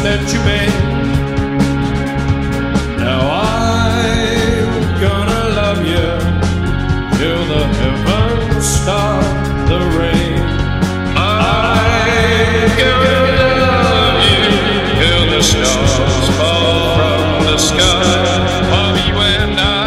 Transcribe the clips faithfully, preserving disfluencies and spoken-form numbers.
that you made. Now I'm gonna love you till the heavens stop the rain. I'm gonna love you till the stars fall from the sky of you and I.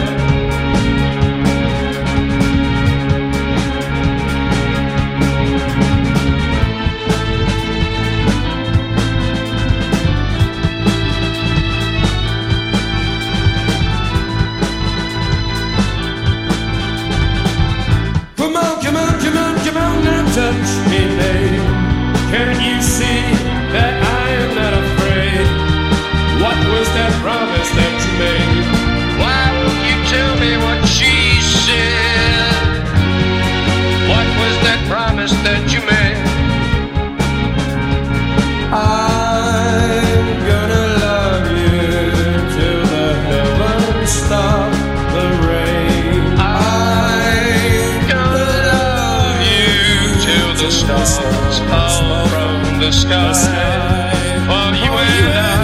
Touch me, babe. Can't you see that I am not afraid? What was that promise that you made? Why won't you tell me what she said? What was that promise that you made? I'm gonna love you till the heavens stop the rain. I'm gonna the stars fall from the sky for you and I.